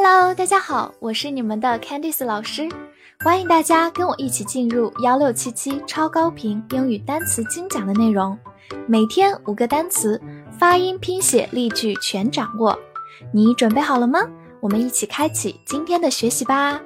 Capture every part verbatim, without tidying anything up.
Hello， 大家好，我是你们的 Candice 老师，欢迎大家跟我一起进入一六七七超高频英语单词精讲的内容，每天五个单词，发音、拼写、例句全掌握。你准备好了吗？我们一起开启今天的学习吧。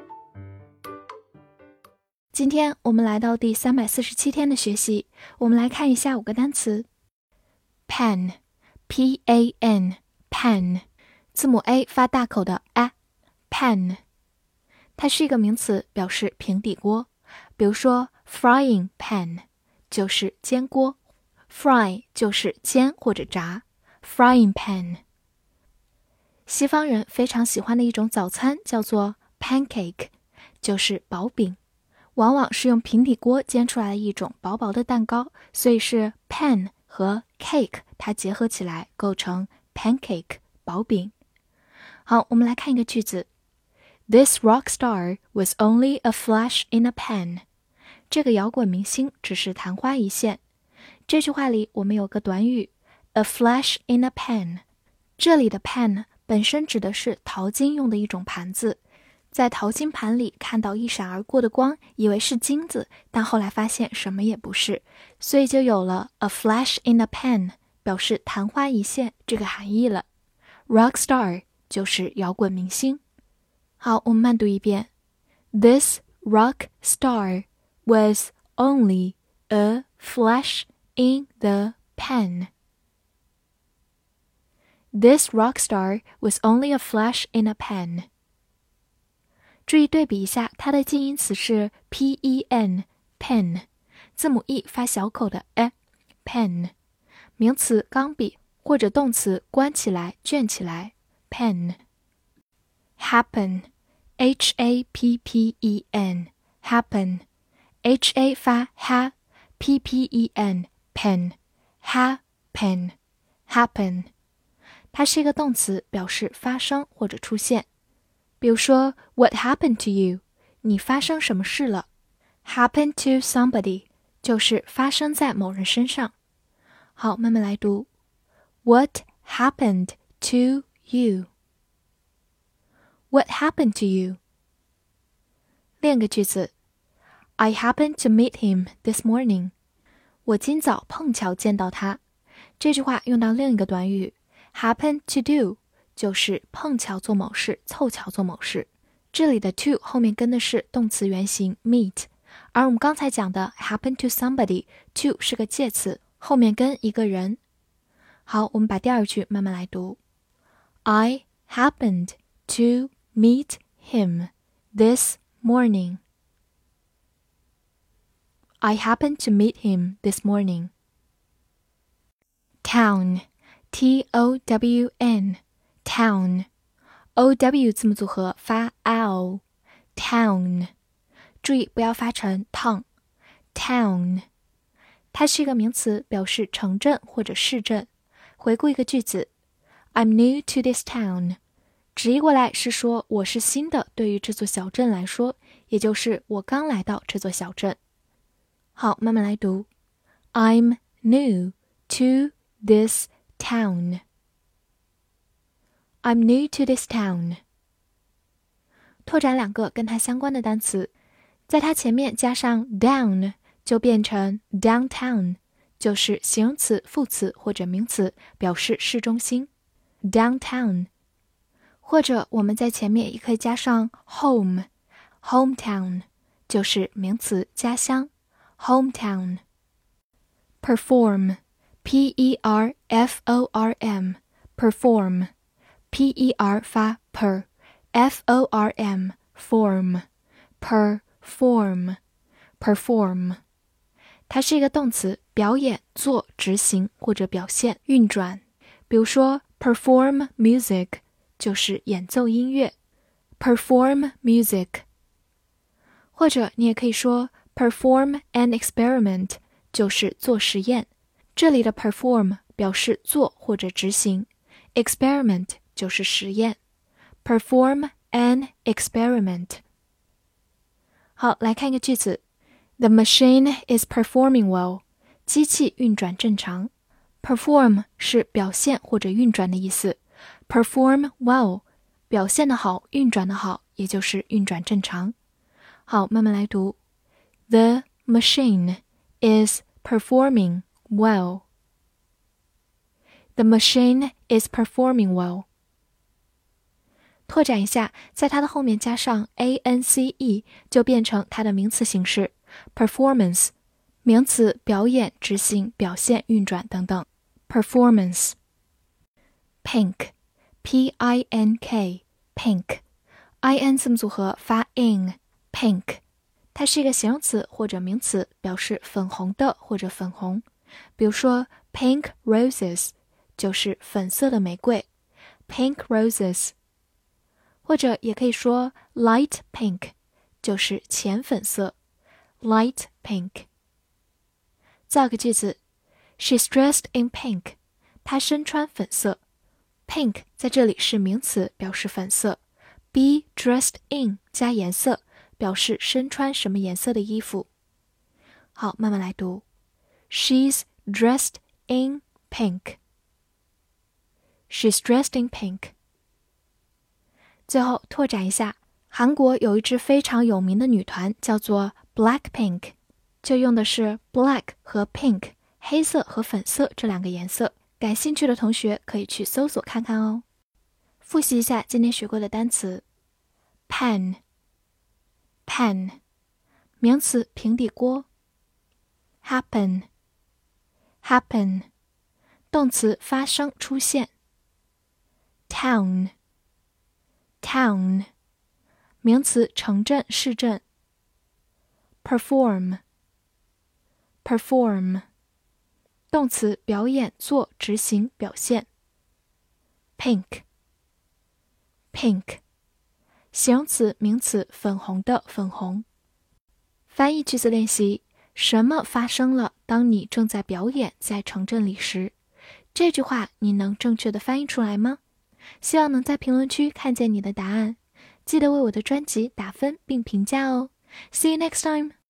今天我们来到第三百四十七天的学习，我们来看一下五个单词。Pen P A N Pen 字母 A 发大口的 A Pen 它是一个名词，表示平底锅，比如说 frying pan 就是煎锅， fry 就是煎或者炸， frying pan 西方人非常喜欢的一种早餐叫做 pancake 就是薄饼，往往是用平底锅煎出来的一种薄薄的蛋糕，所以是 pan 和 cake 它结合起来构成 pancake 薄饼。好，我们来看一个句子。This rock star was only a flash in a pan. 这个摇滚明星只是昙花一现。这句话里我们有个短语 a flash in a pan. 这里的 pan 本身指的是淘金用的一种盘子，在淘金盘里看到一闪而过的光，以为是金子，但后来发现什么也不是，所以就有了 a flash in a pan 表示昙花一现这个含义了。 Rock star 就是摇滚明星。好，我们慢读一遍。 This rock star was only a flash in the pan. This rock star was only a flash in a pan. 注意对比一下，它的近义词是 P E N pen 字母 E 发小口的 E pen 名词钢笔或者动词关起来卷起来 pen happen H A P P E N happen H A 发 ha P P E N pen happen happen 它是一个动词，表示发生或者出现。比如说 What happened to you 你发生什么事了， happen to somebody 就是发生在某人身上。好，慢慢来读。 What happened to you What happened to you 另一个句子 I happened to meet him this morning 我今早碰巧见到他。这句话用到另一个短语 happen to do就是碰巧做某事，凑巧做某事。这里的 to 后面跟的是动词原形 meet， 而我们刚才讲的 happen to somebody to 是个介词，后面跟一个人。好，我们把第二句慢慢来读。 I happened to meet him this morning. I happened to meet him this morning. Town T O W N Town O W 字母组合发 L Town 注意不要发成 tongue Town 它是一个名词，表示城镇或者市镇。回顾一个句子 I'm new to this town 直译过来是说我是新的，对于这座小镇来说，也就是我刚来到这座小镇。好，慢慢来读 I'm new to this town I'm new to this town 拓展两个跟它相关的单词，在它前面加上 down 就变成 downtown 就是形容词、副词或者名词，表示市中心 downtown 或者我们在前面也可以加上 home hometown 就是名词家乡 hometown perform P E R F O R M perform P E R 发 per F O R M form perform perform 它是一个动词，表演、做、执行或者表现、运转。比如说 perform music 就是演奏音乐 perform music 或者你也可以说 perform an experiment 就是做实验。这里的 perform 表示做或者执行 experiment 就是实验 perform an experiment 好，来看一个句子 The machine is performing well 机器运转正常 perform 是表现或者运转的意思 perform well 表现得好，运转得好，也就是运转正常。好，慢慢来读。The machine is performing well. The machine is performing well. 拓展一下，在它的后面加上 ance 就变成它的名词形式 performance， 名词表演、执行、表现、运转等等 performance。 Pink P I N K Pink I N 字母组合发 in Pink， 它是一个形容词或者名词，表示粉红的或者粉红。比如说 Pink roses 就是粉色的玫瑰 Pink roses，或者也可以说 light pink 就是浅粉色 light pink。 造个句子 She's dressed in pink， 她身穿粉色。 pink 在这里是名词，表示粉色。 be dressed in 加颜色，表示身穿什么颜色的衣服。好，慢慢来读 She's dressed in pink。 She's dressed in pink。最后拓展一下，韩国有一支非常有名的女团叫做 Blackpink， 就用的是 black 和 pink 黑色和粉色这两个颜色。感兴趣的同学可以去搜索看看哦。复习一下今天学过的单词 Pan Pan 名词平底锅。 Happen Happen 动词发生出现。 Town Town 名词城镇市镇。 Perform Perform 动词表演做执行表现。 Pink Pink 形容词名词粉红的粉红。翻译句子练习，什么发生了当你正在表演在城镇里时？这句话你能正确的翻译出来吗？希望能在评论区看见你的答案，记得为我的专辑打分并评价哦。See you next time!